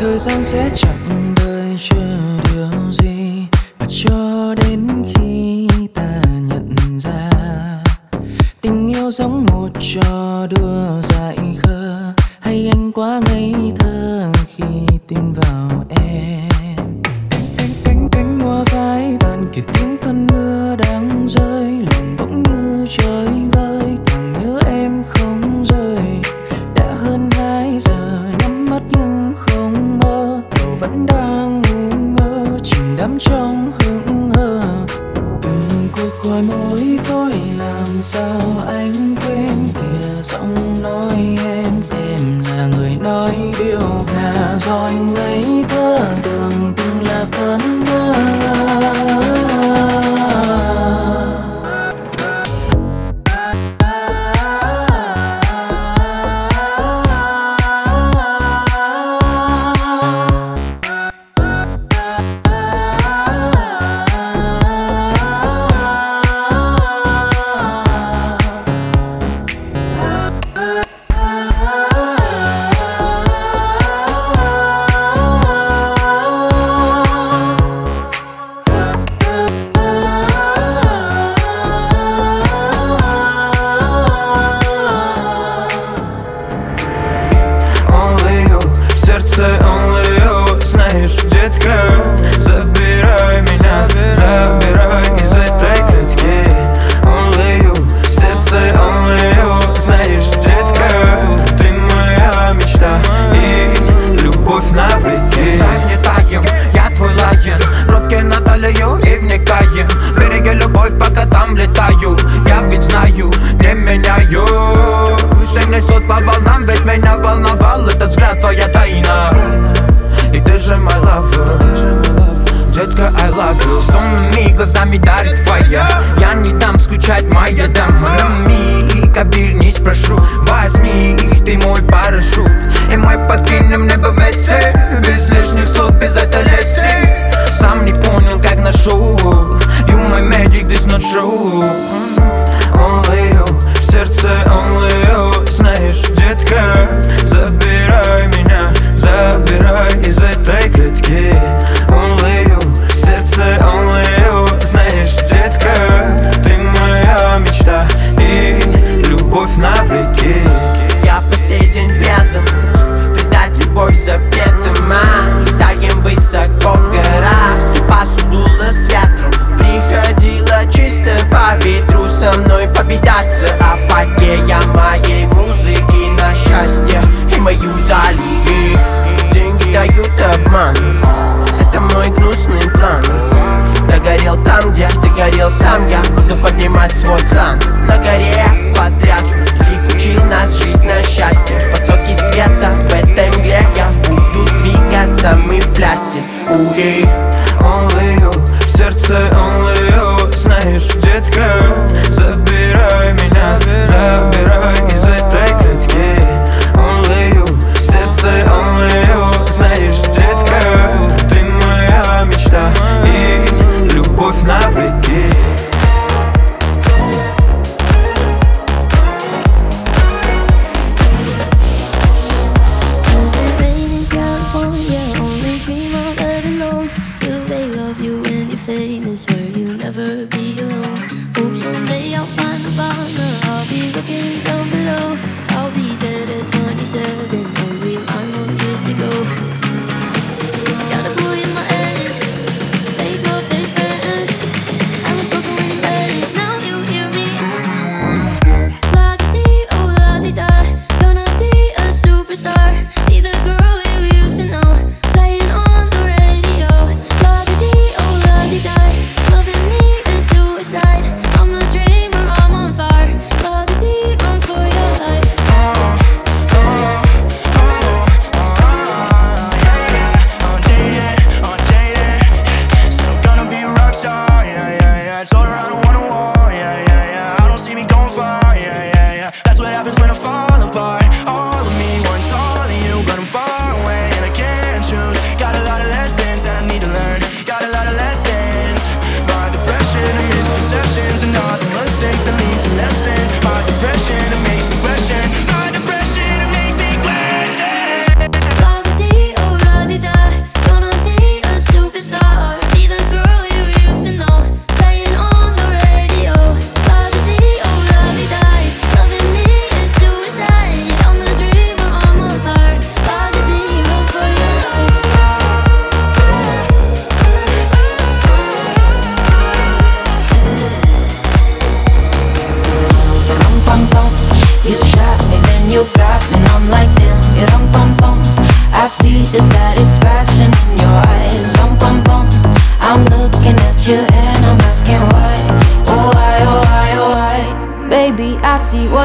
Thời gian sẽ chẳng đợi chờ điều gì, và cho đến khi ta nhận ra tình yêu giống một trò đùa dại khờ, hay anh quá ngây thơ khi tin vào em. Cánh hoa phai tàn kịp tiếng cơn mưa đang rơi, lòng bỗng như chơi vơi, càng nhớ em không rời. Đã hơn 2 giờ nhắm mắt nhưng không mơ, đầu vẫn đang ngu ngơ chìm đắm trong hững hờ. Từng cuộc gọi môi thôi làm sao anh quên kìa giọng nói em là người nói điều là do anh ngây thơ tưởng từng là cơn mơ. That's what happens when I fall apart. All of me wants all of you, but I'm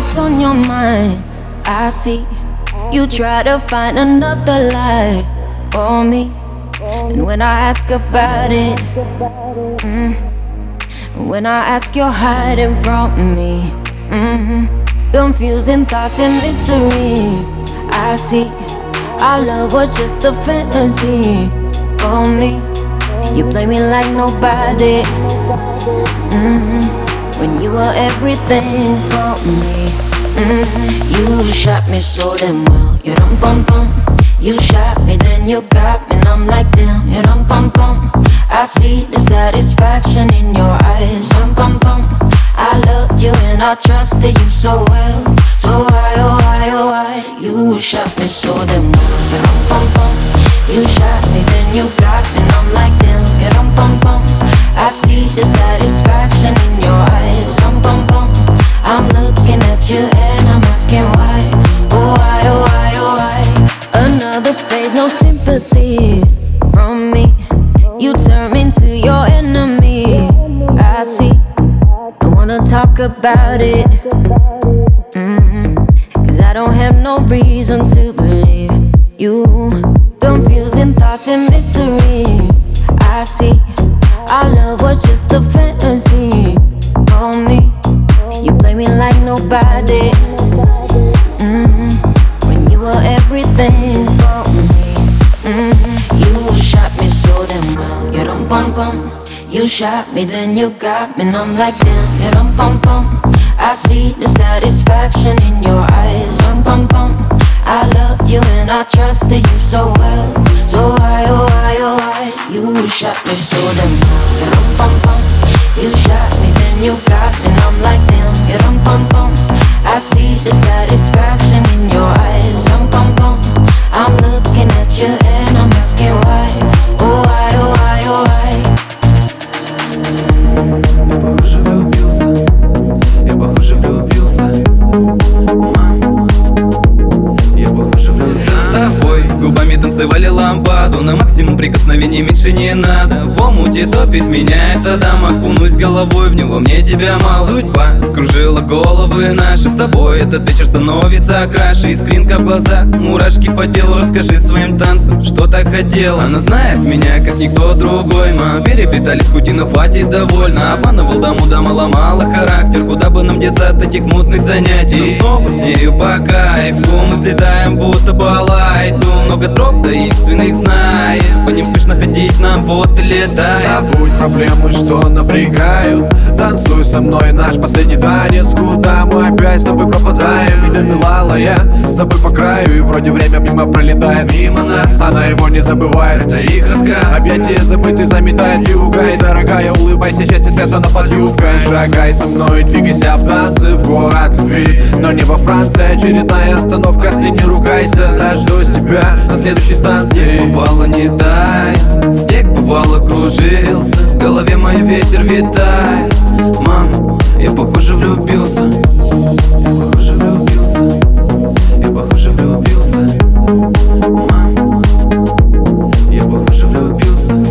what's on your mind. I see you try to find another lie for me. And when I ask about it, when I ask, you're hiding from me. Confusing thoughts and mystery. I see our love was just a fantasy for me. You play me like nobody. When you were everything for me. You shot me so damn well. You dum bum bum. You shot me, then you got me, and I'm like damn. You dum bum bum. I see the satisfaction in your eyes. Dum bum bum. I loved you and I trusted you so well. So why, oh why, oh why? You shot me so damn well. You dum bum bum. You shot me, then you got me, and I'm like damn. You dum bum bum. I see the satisfaction in your eyes. Dum bum bum. I'm looking at you and I'm asking why. Oh why, oh why, oh why? Another phase, no sympathy from me. You turn me into your enemy. I see. I wanna talk about it. Cause I don't have no reason to believe you. Confusing thoughts and mystery. I see. Our love was just a fantasy for me. You play me like nobody. When you were everything for me. You shot me so damn well. You dum bum bum. You shot me, then you got me, and I'm like damn. You dum bum bum. I see the satisfaction in your eyes. Dum bum bum. I loved you and I trusted you so well. So why, oh why, oh why? You shot me so damn well. You dum bum bum. You shot me, then you got me, and I'm like damn. You dum bum bum. I see the satisfaction in your eyes. Dum bum bum. I'm looking at you and I'm asking why. Oh why, oh why, oh why? Я похоже влюбился. Я похоже влюбился. Мам, я похоже влюбился. С тобой губами танцевали лампаду. На максимум прикосновений меньше не надо. В омуте топит меня эта дама. Окунусь головой в него, мне тебя мало. Судьба скружила головы наши. С тобой этот вечер становится краше. Искринка в глазах, мурашки по телу. Расскажи своим танцам, что так хотела. Она знает меня, как никто другой. Мы переплетались пути, но хватит довольно. Обманывал даму, дама ломала характер. Куда бы нам деться от этих мутных занятий? Но снова с нею по кайфу. Мы взлетаем, будто балайду. Много троп таинственных знаем. По ним скучно ходить, нам вот и летаем. Забудь проблемы, что напрягают. Танцуй со мной наш последний танец. Куда мы опять с тобой пропадаем? Меня милала я с тобой по краю. И вроде время мимо пролетает мимо нас. Она его не забывает, это их рассказ. Объятия забыты заметает юга. И дорогая, улыбайся, счастье спрятано под юбкой. Шагай со мной, двигайся в танце в город любви. Но не во Франции, очередная остановка. С не ругайся, дождусь тебя на следующей станции. Снег бывало не тает, снег бывало кружился. В голове мой ветер витает. Мама, я похоже влюбился.